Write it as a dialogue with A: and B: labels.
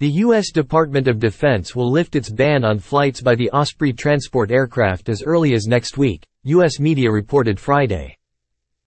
A: The U.S. Department of Defense will lift its ban on flights by the Osprey transport aircraft as early as next week, U.S. media reported Friday.